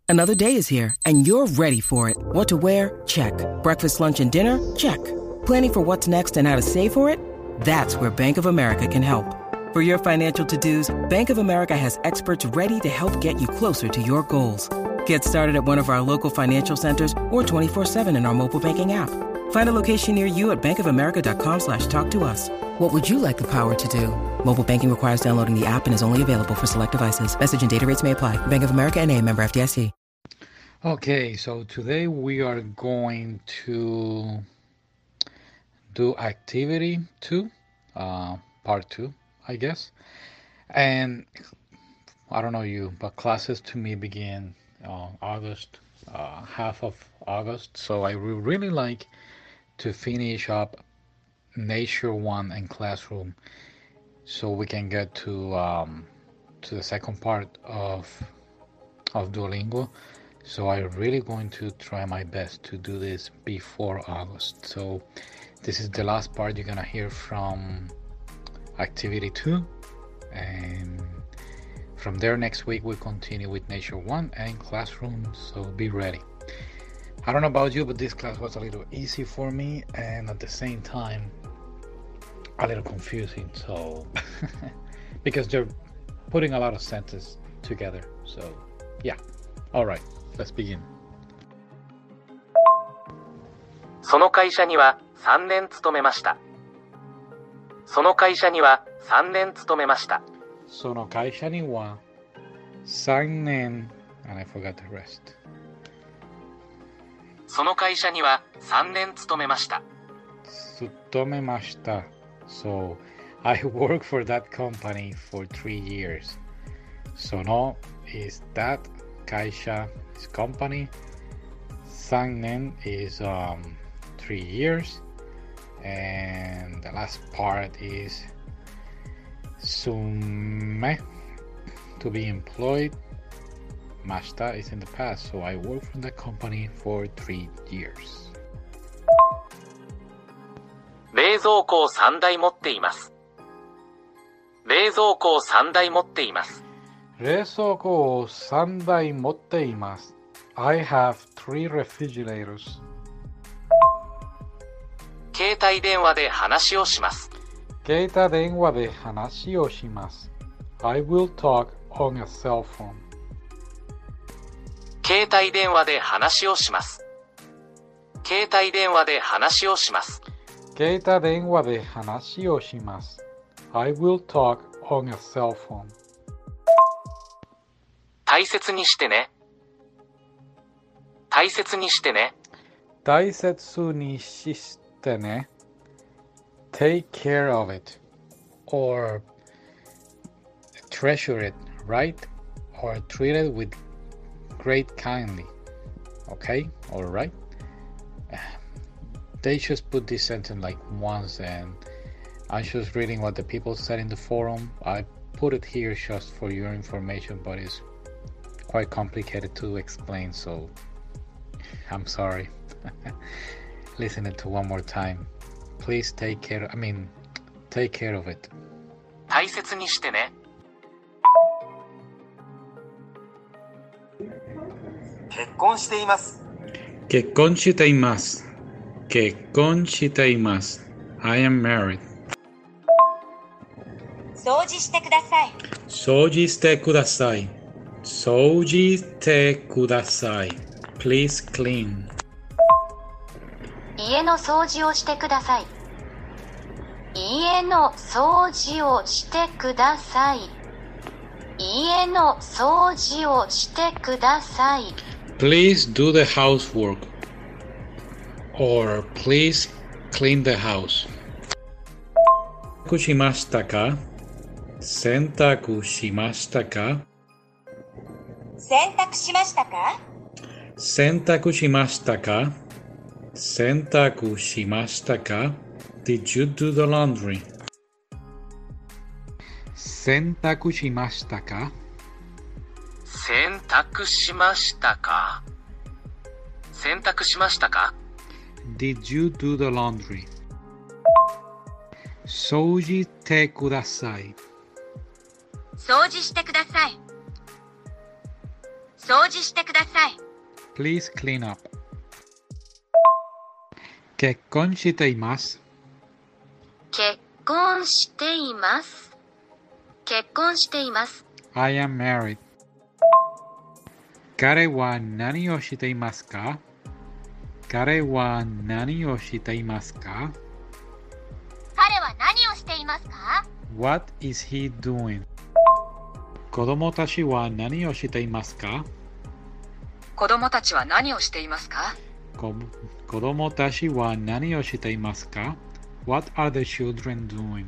Another day is here, and you're ready for it. What to wear? Check. Breakfast, lunch, and dinner? Check. Planning for what's next and how to save for it? That's where Bank of America can help. For your financial to-dos, Bank of America has experts ready to help get you closer to your goals. Get started at one of our local financial centers or 24/7 in our mobile banking app. Find a location near you at bankofamerica.com/talktous. What would you like the power to do? Mobile banking requires downloading the app and is only available for select devices. Message and data rates may apply. Bank of America N.A., member FDIC. Okay, so today we are going to do activity 2, part 2, I guess. And I don't know you, but classes to me begin August, half of August. So I would really like to finish up Nature 1 and Classroom so we can get to the second part of Duolingo. So I'm really going to try my best to do this before August. So this is the last part you're gonna hear from activity 2, and from there next week we'll continue with Nature 1 and Classroom, so be ready. I don't know about you, but this class was a little easy for me and at the same time a little confusing, so because they're putting a lot of sentences together. So yeah, all right, let's begin. その会社には3年勤めました。その会社には3年勤めました。 その会社には3年 and I forgot the rest. その会社には3年勤めました。 勤めました。So I worked for that company for 3 years. その is that 会社 is company. 3年 is 3 years. And the last part is 勤め to be employed. Mashita is in the past, so I worked for that company for 3 years. 冷蔵庫を3台持っています。冷蔵庫を3台持っています。 冷蔵庫を3台持っています。I have 3 refrigerators. 携帯電話で話をします。 携帯電話で話をします。I will talk on a cell phone. 携帯電話で話をします。携帯電話で話をします。 携帯電話で話をします。I will talk on a cell phone. 大切にしてね。大切にしてね。 大切にしてね。Take care of it. Or treasure it, right? Or treat it with great kindly. Okay? Alright? They just put this sentence like once, and I'm just reading what the people said in the forum. I put it here just for your information, but it's quite complicated to explain, so I'm sorry. Listen it to one more time. Please take care of it. 大切にしてね。結婚しています。 結婚しています。結婚しています。I am married. 掃除してください。 掃除してください。掃除してください。Please clean. 家の掃除をしてください。家の掃除をしてください。家の掃除をしてください。 Please do the housework. Or please clean the house. 洗濯しましたか？洗濯しましたか？ 洗濯しましたか？ 洗濯しましたか？洗濯しましたか？ Did you do the laundry? 洗濯しましたか？ 洗濯しましたか？洗濯しましたか？ Did you do the laundry? 掃除してください。 掃除してください。掃掃除してください。 Please clean up. 結婚しています。 結婚しています。結婚しています。 I am married. 彼は何をしていますか？彼は何をしていますか？ 彼は何をしていますか？ What is he doing? 子供たちは何をしていますか？ 子供たちは何をしていますか？ 子供たちは何をしていますか？ What are the children doing?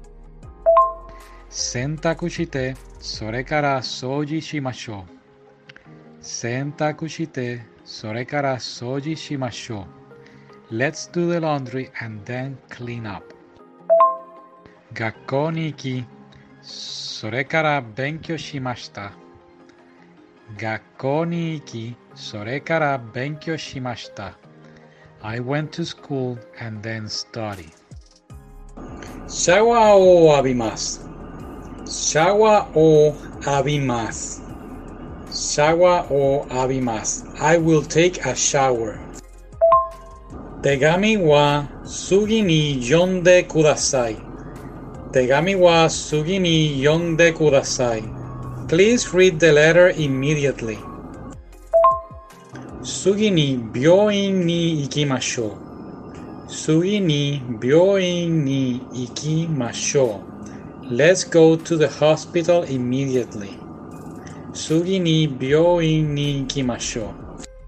洗濯して、それから掃除しましょう。洗濯して、それから掃除しましょう。Let's do the laundry and then clean up. 学校に行き、それから勉強しました。学校に行き、それから勉強しました。I went to school and then study. シャワーを浴びます。シャワーを浴びます。シャワーを浴びます。I will take a shower. 手紙は次に読んでください。手紙は次に読んでください。Please read the letter immediately. 次に病院に行きましょう。次に病院に行きましょう。Let's go to the hospital immediately. 次に病院に行きましょ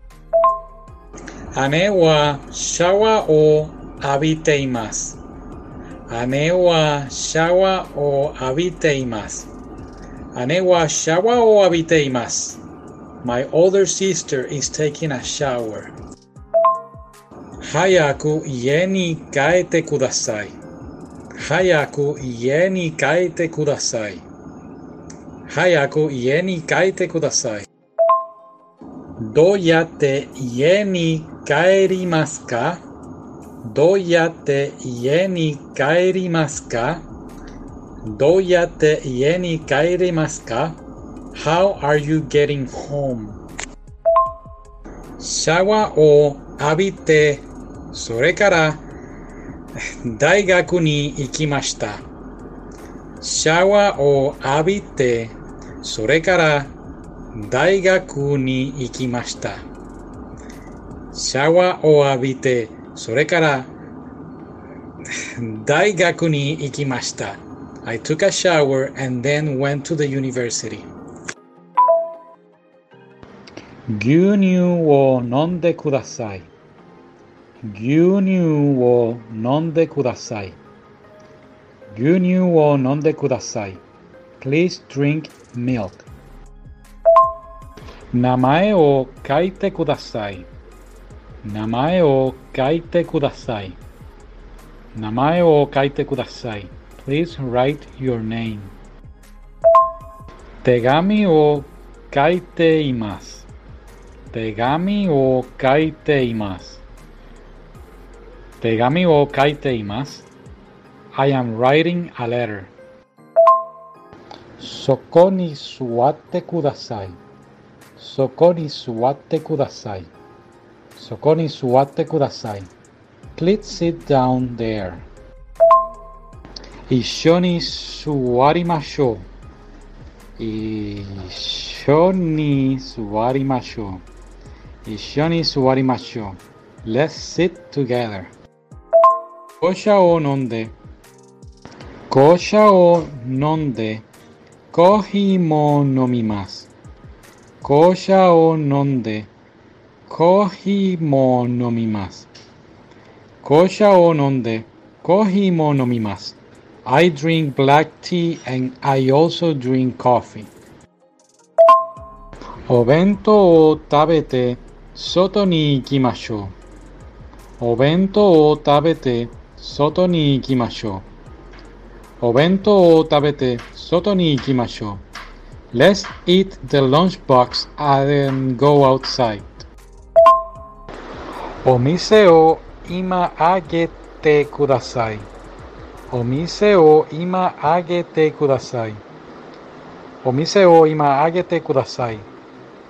う。姉はシャワーを浴びています。姉はシャワーを浴びています。姉はシャワーを浴びています。My older sister is taking a shower. 早く家に帰ってください。早く家に帰ってください。早く家に帰ってください。どうやって家に帰りますか？どうやって家に帰りますか？どうやって家に帰りますか？ How are you getting home? シャワーを浴びて、それから大学に行きました。シャワーを浴びて、それから大学に行きました。シャワーを浴びて、それから大学に行きました。I took a shower and then went to the university. 牛乳を飲んでください。牛乳を飲んでください。牛乳を飲んでください。Please drink milk. 名前を書いてください。名前を書いてください。名前を書いてください。Please write your name. 手紙を書いています。手紙を書いています。手紙を書いています。I am writing a letter. そこに座ってください。そこに座ってください。そこに座ってください。Please sit down there. 一緒に座りましょう。一緒に座りましょう。一緒に座りましょう。Let's sit together. 紅茶を飲んで。紅茶を飲んで。コーヒーも飲みます。紅茶を飲んで。コーヒーも飲みます。紅茶を飲んで、コーヒーも飲みます。I drink black tea and I also drink coffee. お弁当を食べて、外に行きましょう。お弁当を食べて、外に行きましょう。お弁当を食べて、外に行きましょう。Let's eat the lunchbox and go outside. お店を今あげてください。お店を今あげてください。お店を今あげてください。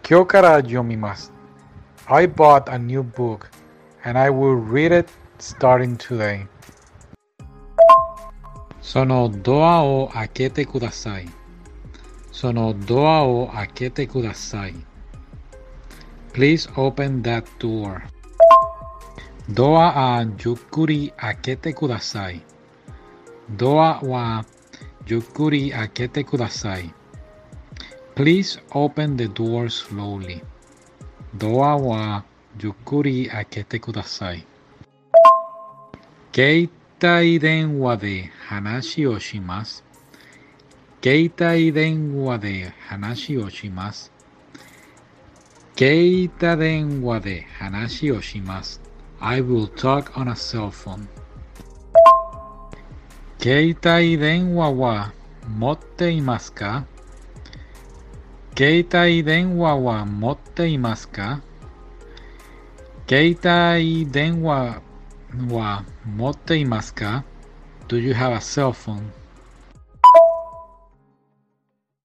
今日から読みます。I bought a new book, and I will read it starting today. そのドアを開けてください。そのドアを開けてください。Please open that door. ドアはゆっくり開けてください。ドアはゆっくり開けてください。Please open the door slowly. ドアはゆっくり開けてください。携帯電話で話をします。携帯電話で話をします。携帯電話で話をします。I will talk on a cell phone. 携帯電話は持っていますか？携帯電話は持っていますか？携帯電話は持っていますか？ Do you have a cell phone?